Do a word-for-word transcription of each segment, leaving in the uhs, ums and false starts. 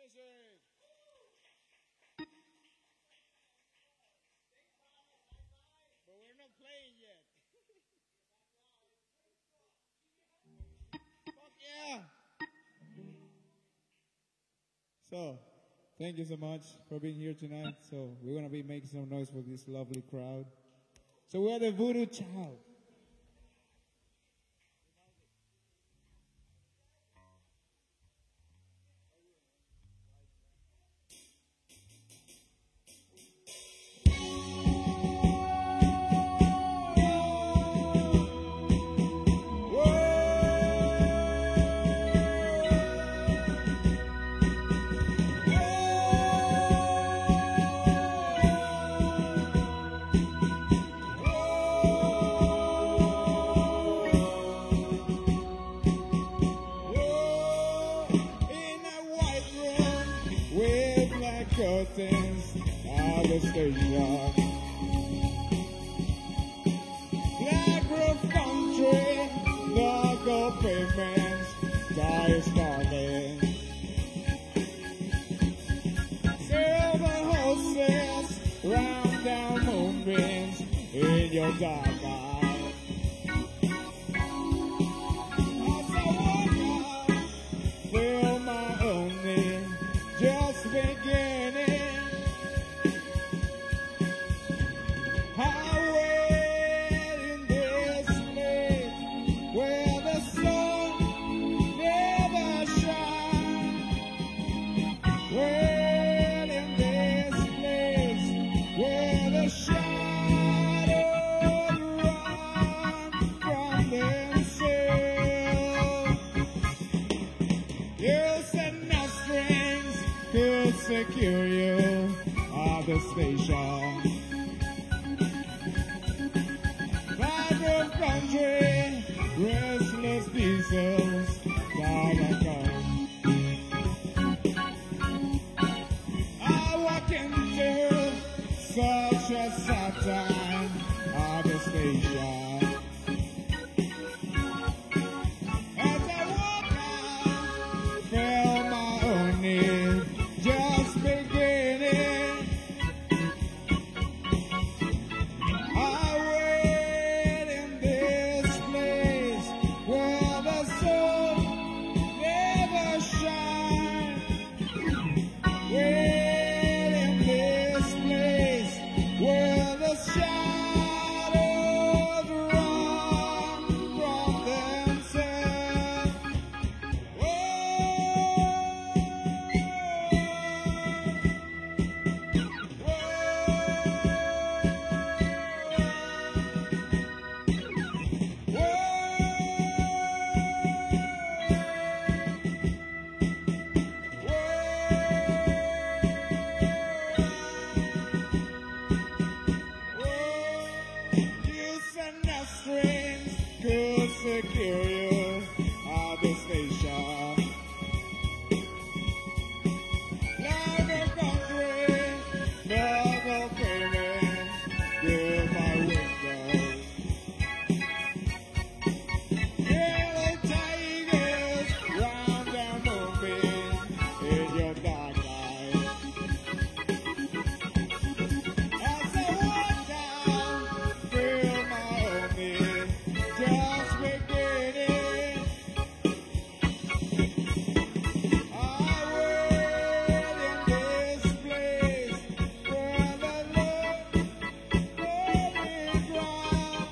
Congratulations. But we're not playing yet. Fuck yeah. So, thank you so much for being here tonight. So, we're going to be making some noise for this lovely crowd. So, we're the Voodoo Child. Curtains of the station, Black roof country, the gold pavements, sky is starting. Silver horses, round down moonbeams in your dark eyes. As I walk out, feel my own need, just beginning. Secure you at the station. Vibrant country, restless diesels, down and come. I walk into such a sad time at the station. As I walk out, feel my own need. Just beginning. I wait in this place where the sun never shines. Wait in this place where the shadows run from themselves. Secure you at the station. Like a country, never failing through my window. Yellow tigers round and moving in your dark light. As I walk down, feel my own need. Just beginning. I wait in this place where the love going ground.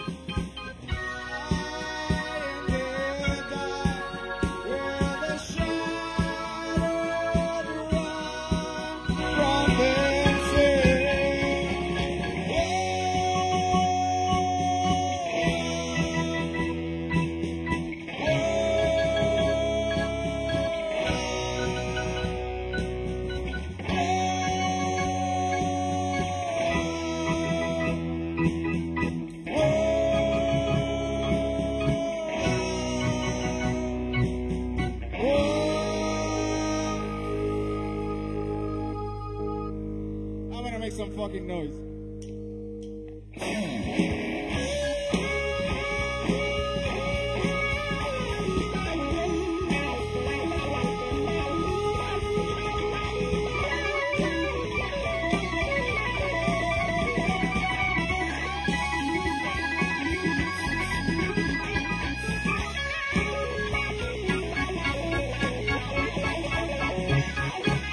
I in the dark where the shadows run from themselves. I'm gonna make some fucking noise.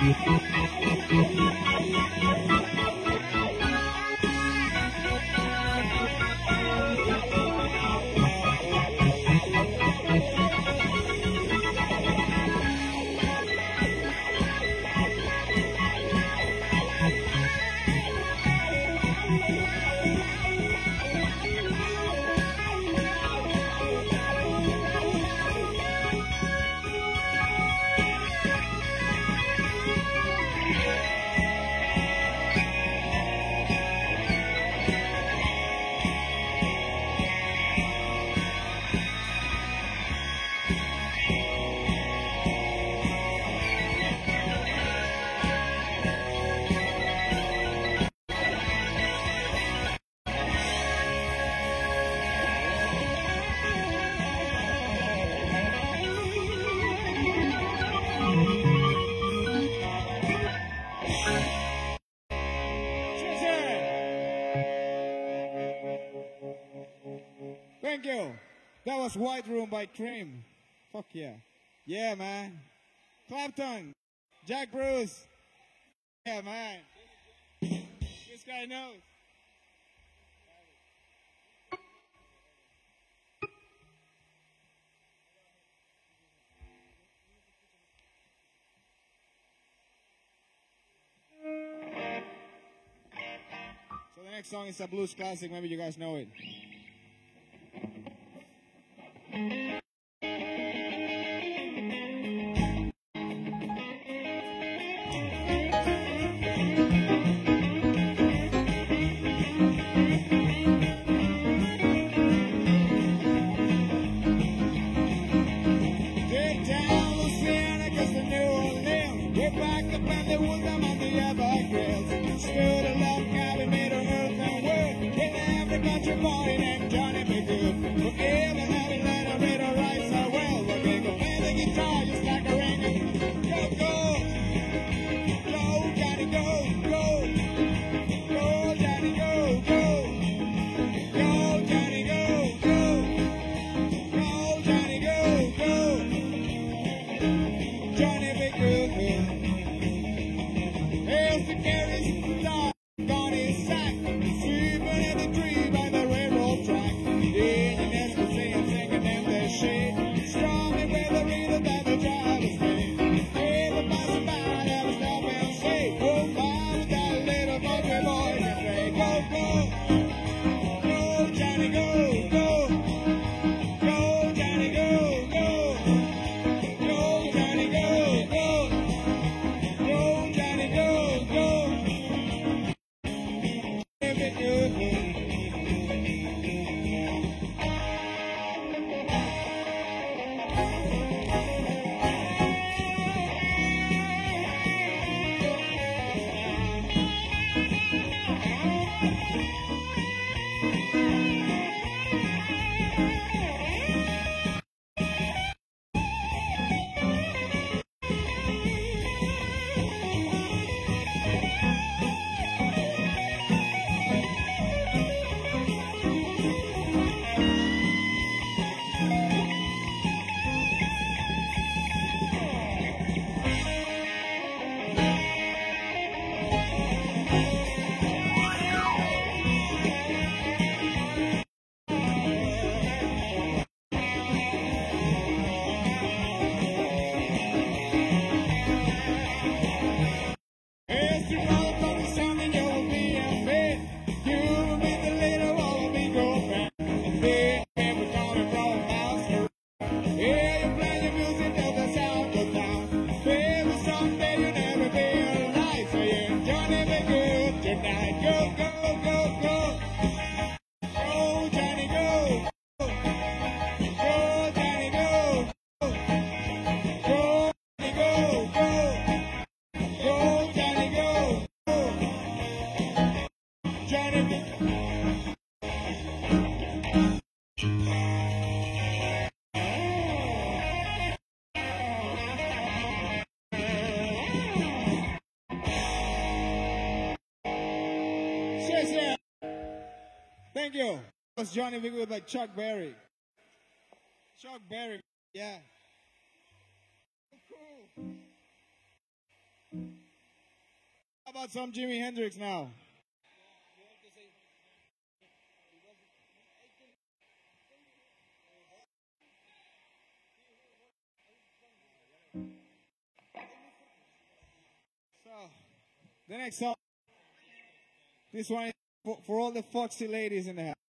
Thank you. That was White Room by Cream. Fuck yeah. Yeah, man. Clapton. Jack Bruce. Yeah, man. This guy knows. So the next song is a blues classic. Maybe you guys know it. Thank you. That was Johnny B. Good by Chuck Berry. Chuck Berry, yeah. Cool. How about some Jimi Hendrix now? So, the next song, this one is for, for all the foxy ladies in the house.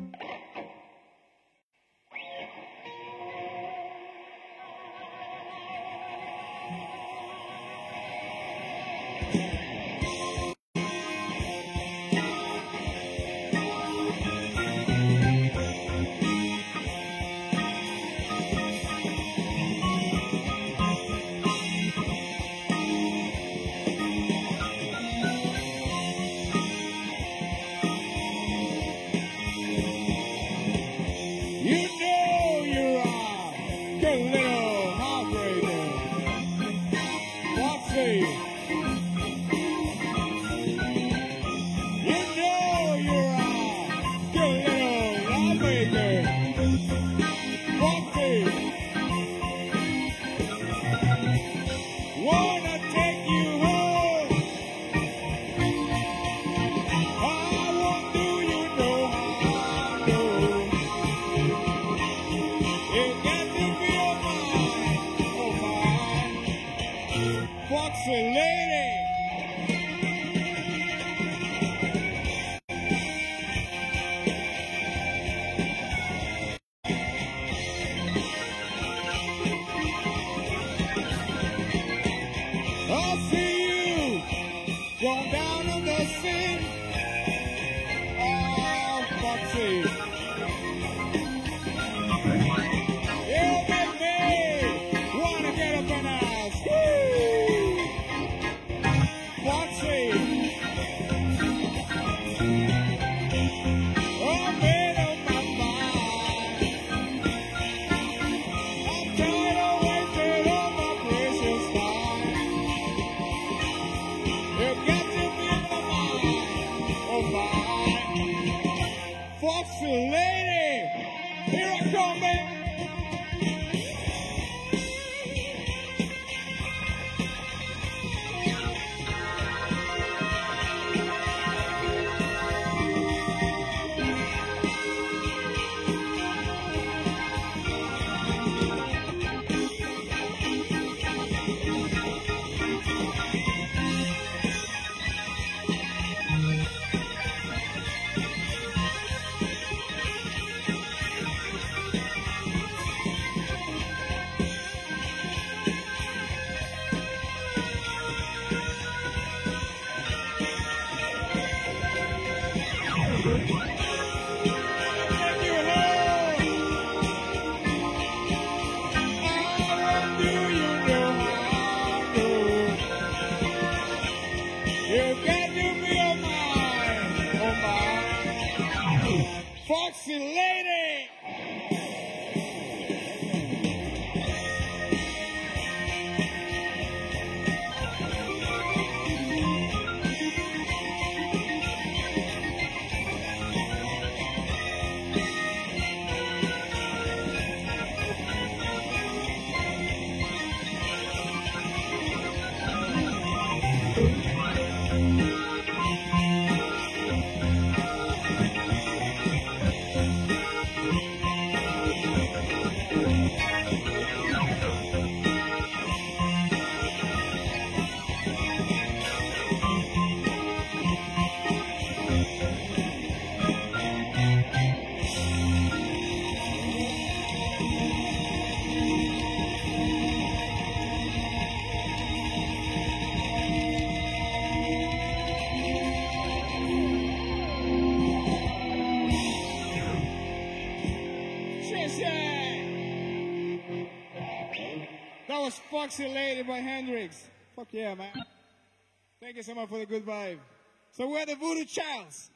Foxy Lady by Hendrix. Fuck yeah, man. Thank you so much for the good vibe. So we're the Voodoo Childs.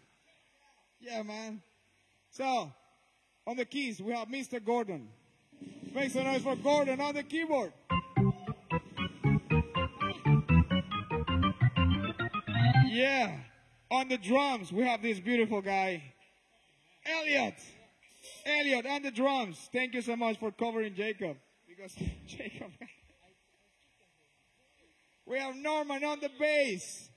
Yeah, man. So, on the keys, we have Mister Gordon. Make some noise for Gordon on the keyboard. Yeah. On the drums, we have this beautiful guy, Elliot. Elliot on the drums. Thank you so much for covering Jacob. Because Jacob... We have Norman on the bass.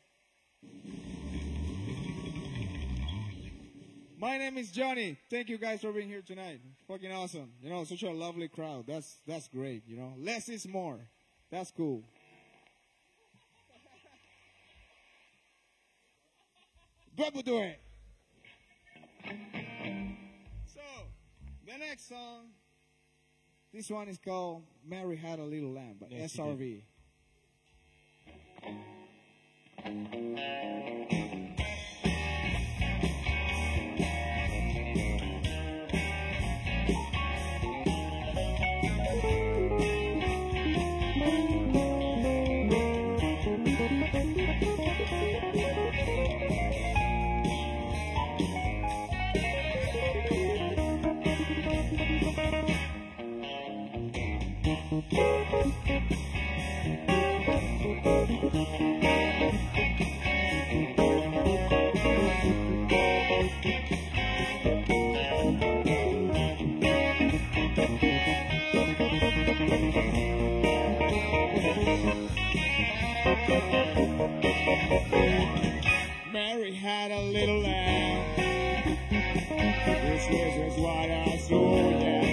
My name is Johnny. Thank you guys for being here tonight. Fucking awesome. You know, such a lovely crowd. That's that's great, you know. Less is more. That's cool. Double do it. So, the next song, this one is called Mary Had a Little Lamb by Yes, S R V. Mary had a little lamb. This was just what I saw, yeah.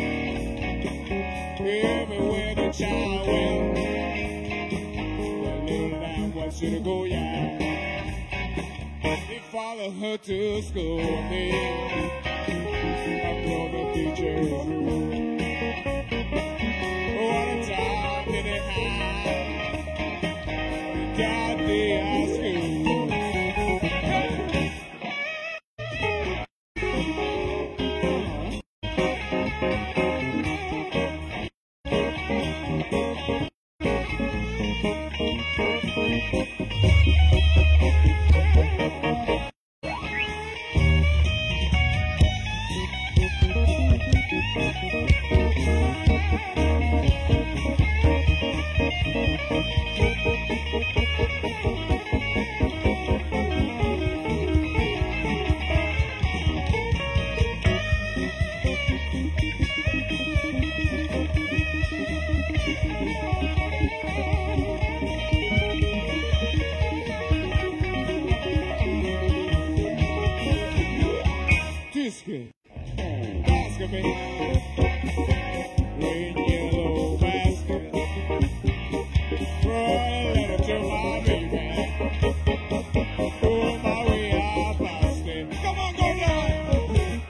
Everywhere the child went, the little lamb was to go, yeah. He followed her to school, yeah. After the teacher's room. What a time did it have? He got the high school. Biscuit, basket, green yellow basket, throw a letter to my baby, oh my way I passed it. Come on, go down.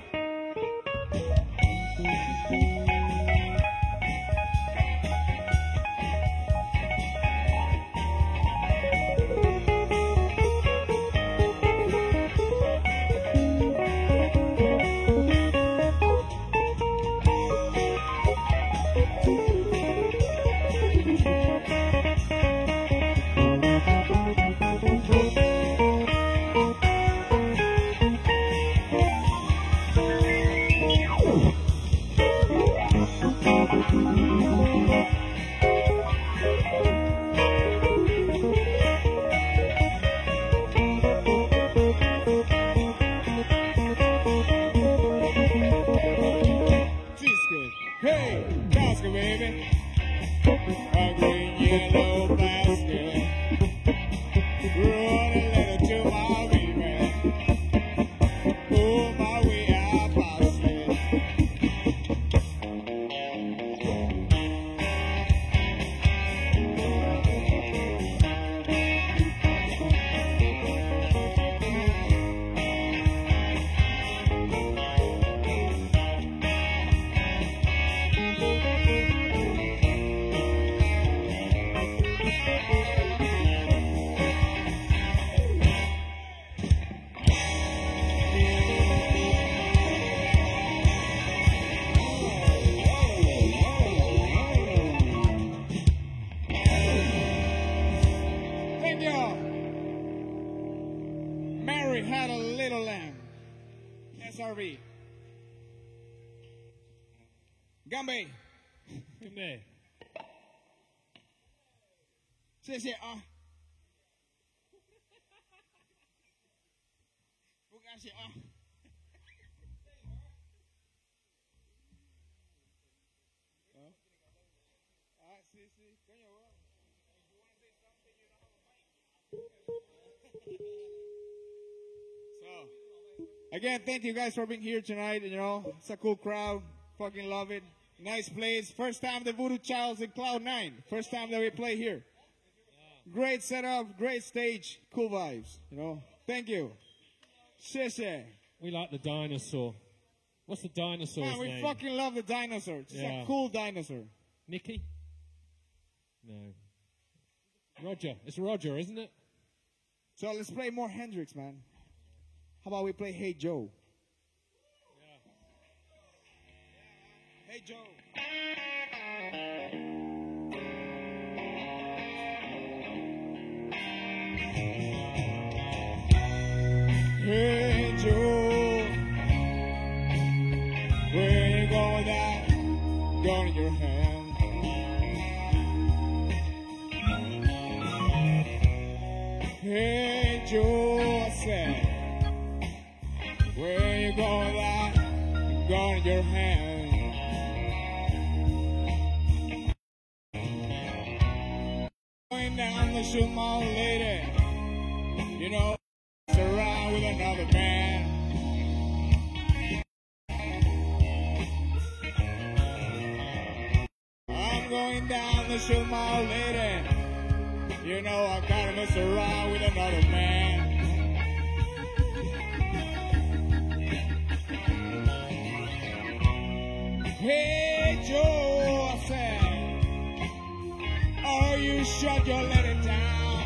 Hey, basket, baby. A green yellow basket. Run a letter to my baby. Oh, my way I passed it. Thank y'all. Mary had a little lamb. S R V. Gambe. Gambe. Say, say, ah. Bukan say, ah. Ah, see, see. Coño, bro. If you want to say something, you know. Again, thank you guys for being here tonight. You know, it's a cool crowd. Fucking love it. Nice place. First time the Voodoo Childs in Cloud Nine. First time that we play here. Great setup, great stage, cool vibes. You know, thank you. Sheshe. We like the dinosaur. What's the dinosaur's Man, we name? fucking love the dinosaur. It's Yeah. a cool dinosaur. Mickey? No. Roger. It's Roger, isn't it? So let's play more Hendrix, man. How about we play Hey Joe? Yeah. Hey Joe. Hey Joe, where you going with that gun in your hand? Hey Joe, I said, where you going with that gun in your hand? Going down to shoot my old lady, you know, around with another man. I'm going down to shoot my old lady. You know I gotta mess around with another man. Hey Joe, I said, oh, you shut your lady down.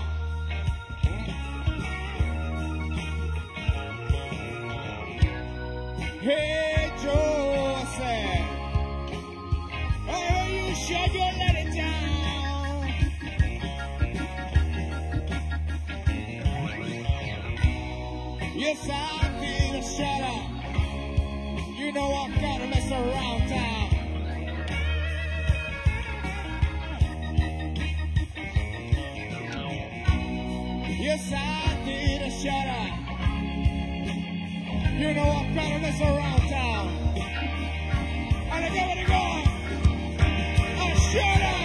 Hey Joe, I said, oh, you shut your lady down. Yes, I did shut up. You know I gotta mess around town. Yes, I did shut up. You know I'm gonna mess around town. And I go, and I go. I shut up.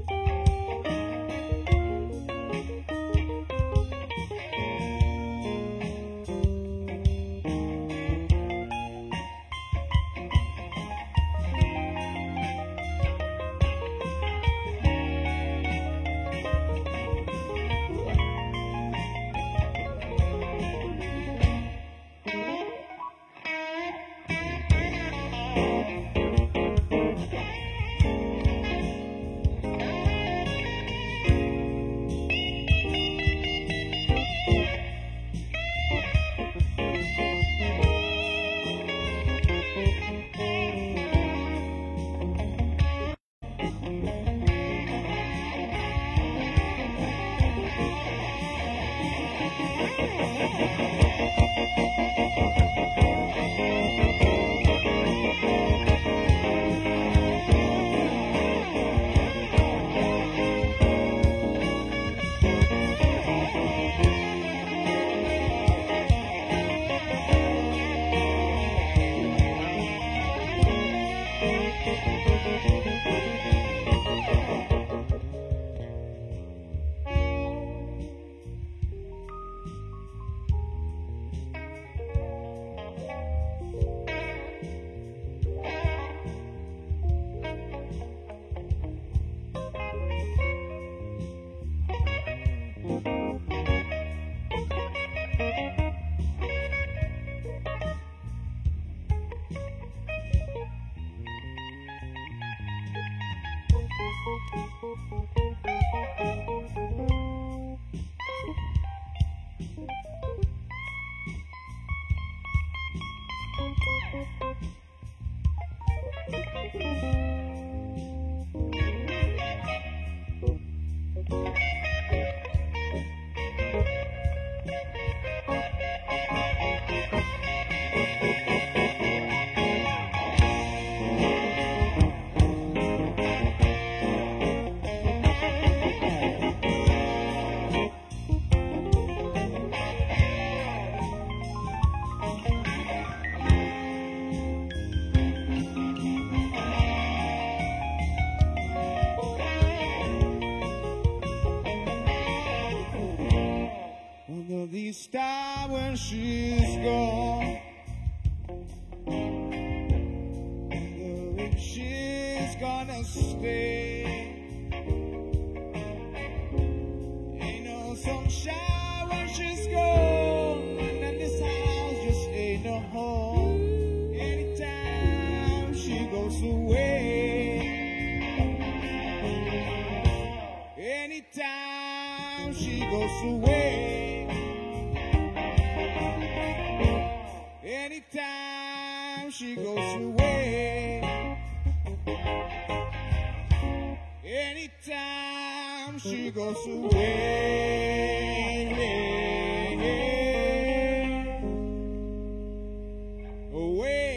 Under the star when she's gone, wonder if she's gonna stay. Ain't no sunshine when she's gone, and then this house just ain't no home. Anytime she goes away, anytime she goes away. Anytime she goes away, anytime she goes away, away.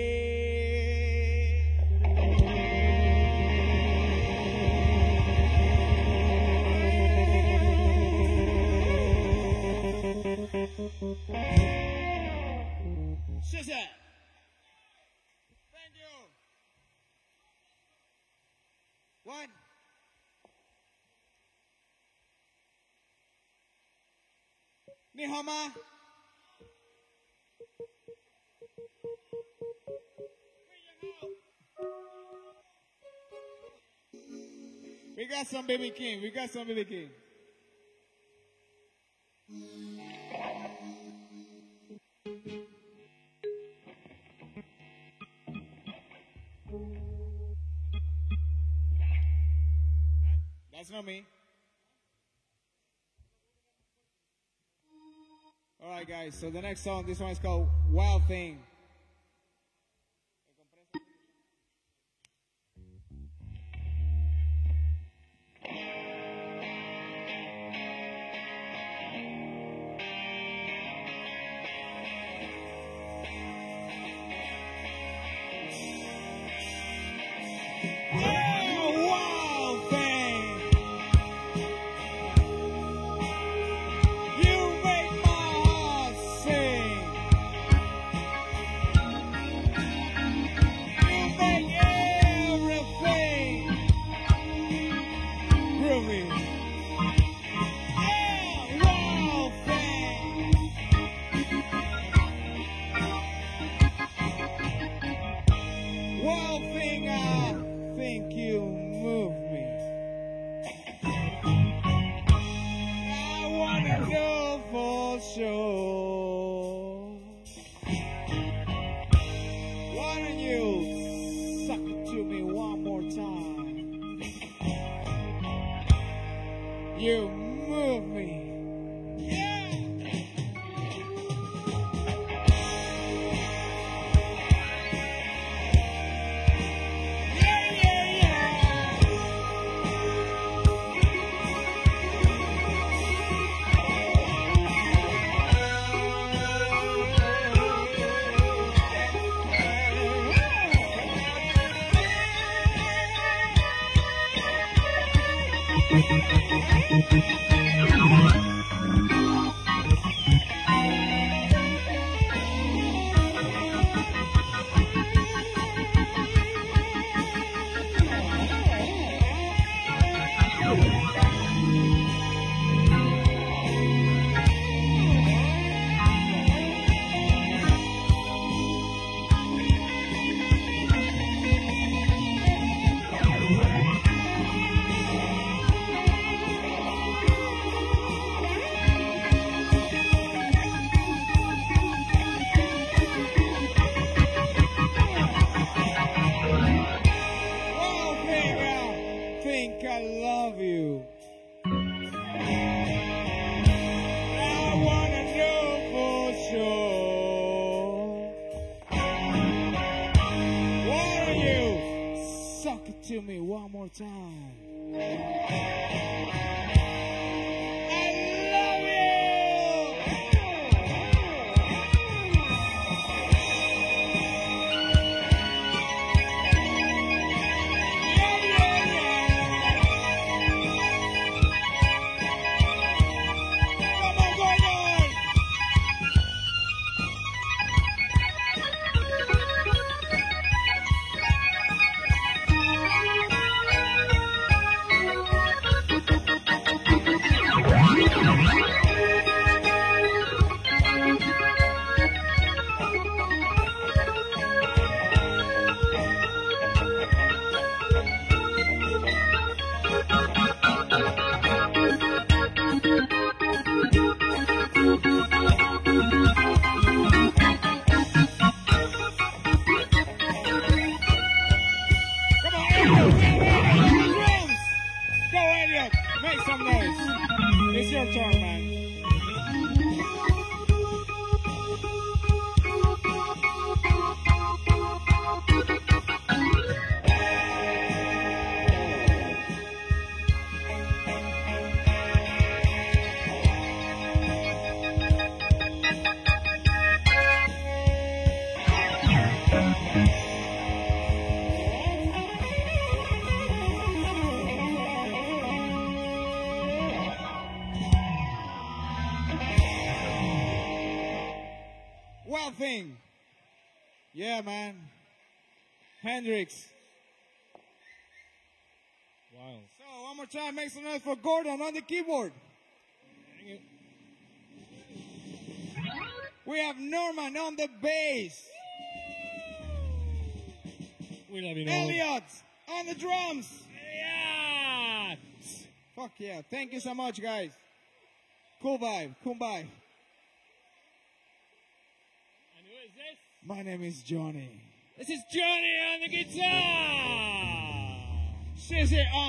Shazam! Thank you. One. Ni hao ma? We got some baby king. We got some baby king. That's not me. All right, guys. So the next song, this one is called Wild Thing. to me one more time. Make some noise. It's your turn, man. Wild Thing. Yeah, man. Hendrix. Wild. So, one more time, make some noise for Gordon on the keyboard. We have Norman on the bass. We love you, Norman. Elliot on the drums. Yeah! Fuck yeah. Thank you so much, guys. Cool vibe. Cool vibe. And who is this? My name is Johnny. This is Johnny on the guitar! She's it. Uh.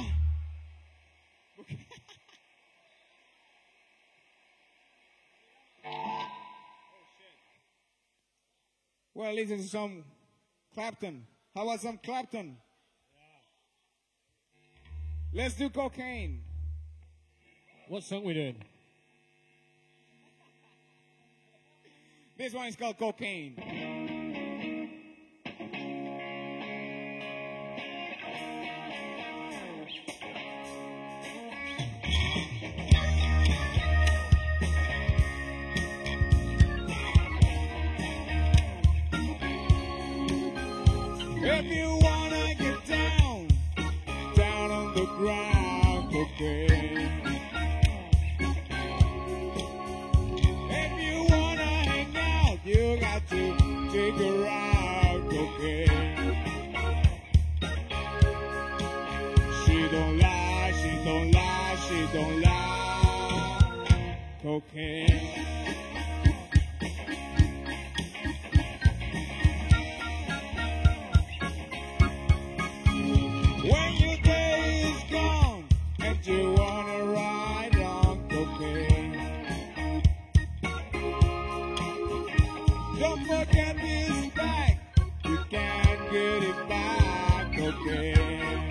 Well, listen to some Clapton. How about some Clapton? Yeah. Let's do Cocaine. What song we doing? This one is called Cocaine. If you wanna get down, down on the ground, cocaine. If you wanna hang out, you got to take her out, cocaine. She don't lie, she don't lie, she don't lie, cocaine. When your day is gone and you wanna ride on cocaine, don't forget this bag, you can't get it back, cocaine.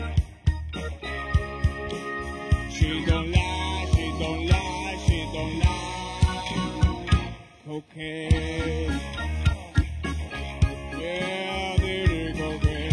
She don't lie, she don't lie, she don't lie, cocaine. Yeah, dirty cocaine.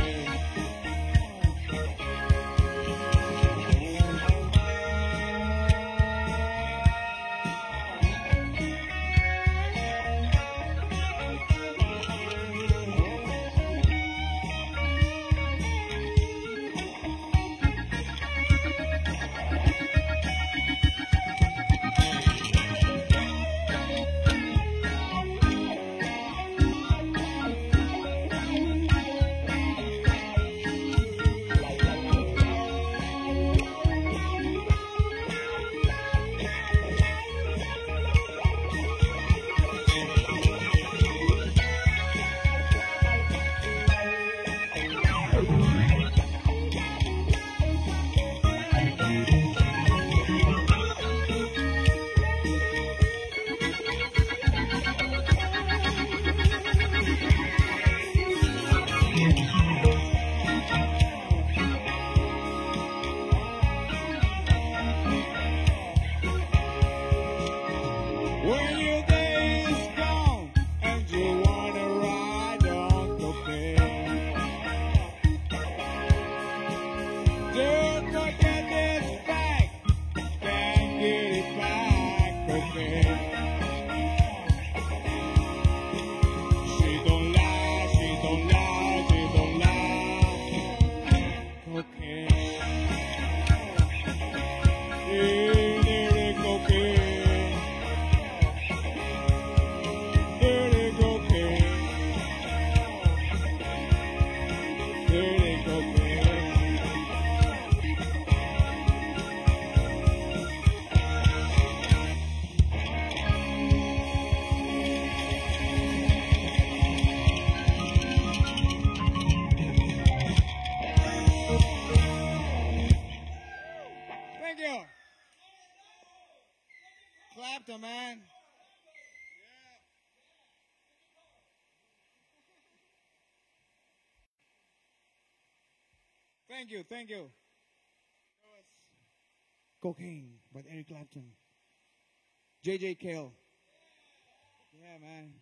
Thank you, thank you. That was Cocaine by Eric Clapton. J J Cale. Yeah, man.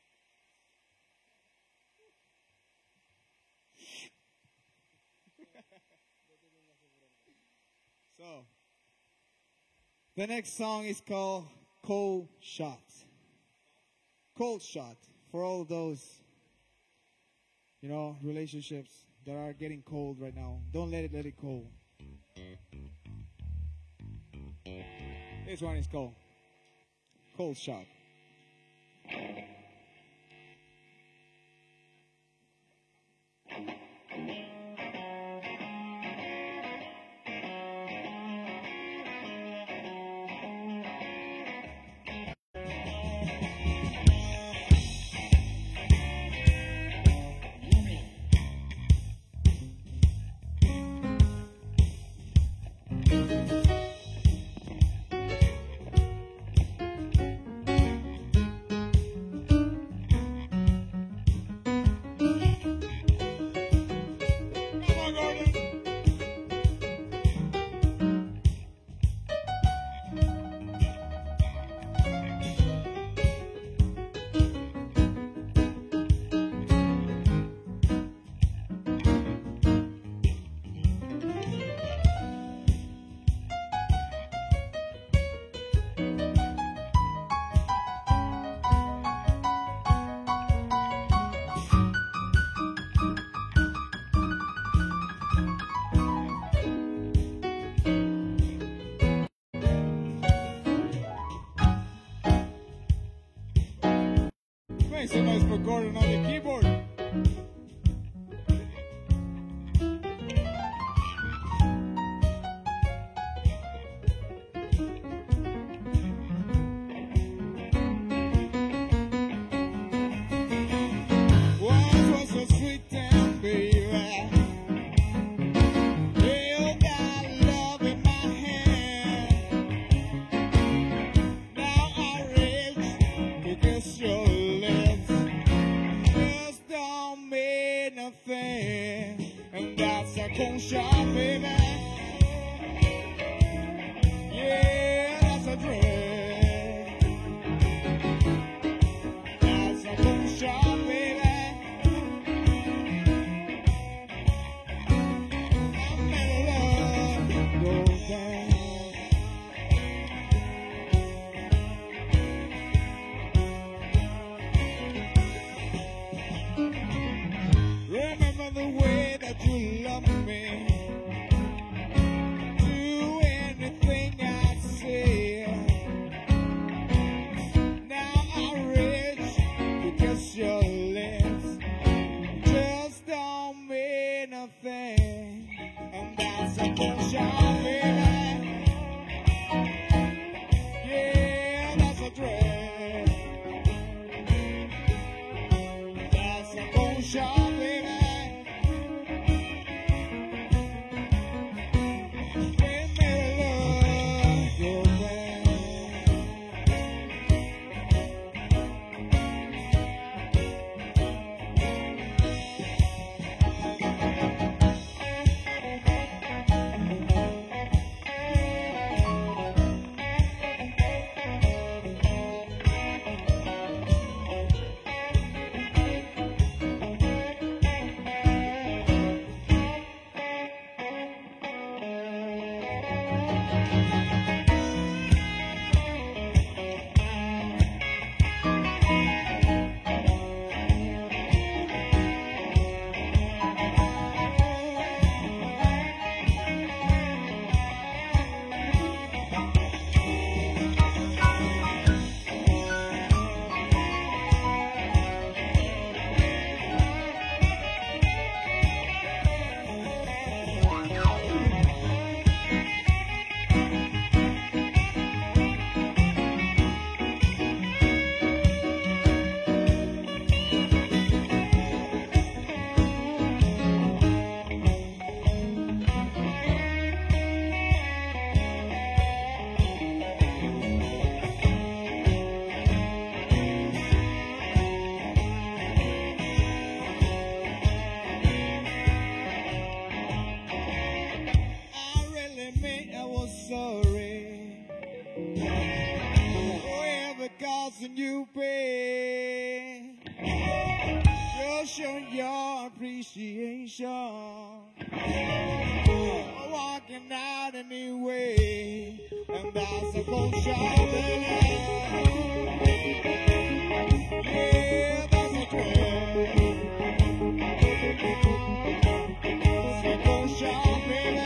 So, the next song is called Cold Shot. Cold Shot for all those, you know, relationships that are getting cold right now. Don't let it let it cold. This one is called Cold Shot. Thanks so much for Gordon on the keyboard. Once was a sweet time, baby. You got love in my hand. Now I reach to kiss your lips. Just don't mean nothing, and that's a cold shot, baby. Yeah, that's a drink. That's a cold shot, baby. I'm in love, go down. Remember the way that you love me. Do anything I say. Now I reach to kiss your lips. Just don't mean nothing, and that's a cold shot, baby. Yeah, that's a drink. That's a cold shot, baby. Give me love, go back. show your appreciation. Walking out anyway, and that's a cold shower. Yeah, that's a trend. It's a cold shower, baby.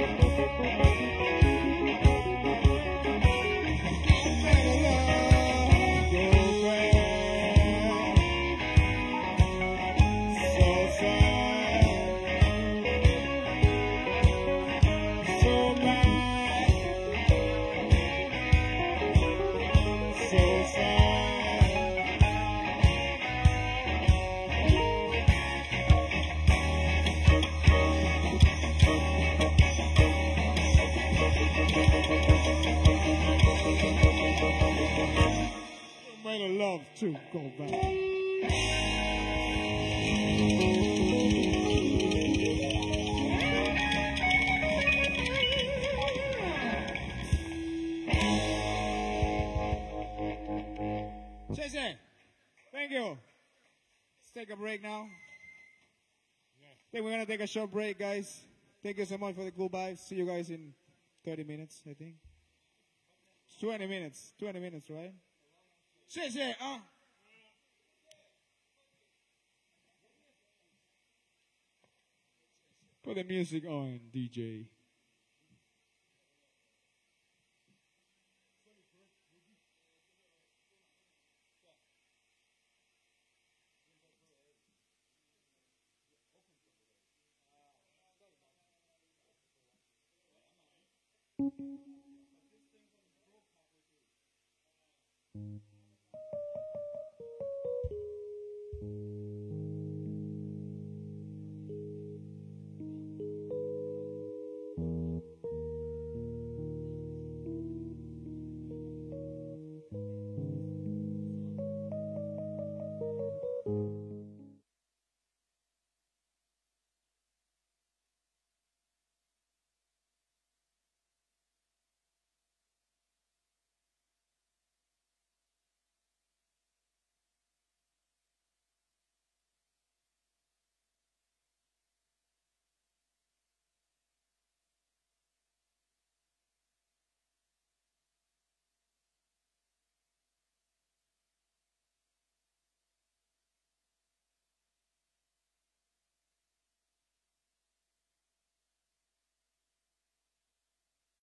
Made a love to go back. Chase, thank you. Let's take a break now. I think we're gonna take a short break, guys. Thank you so much for the cool vibes. See you guys in thirty minutes, I think. twenty minutes. twenty minutes, right? Chase, uh. Put the music on, D J. Thank you.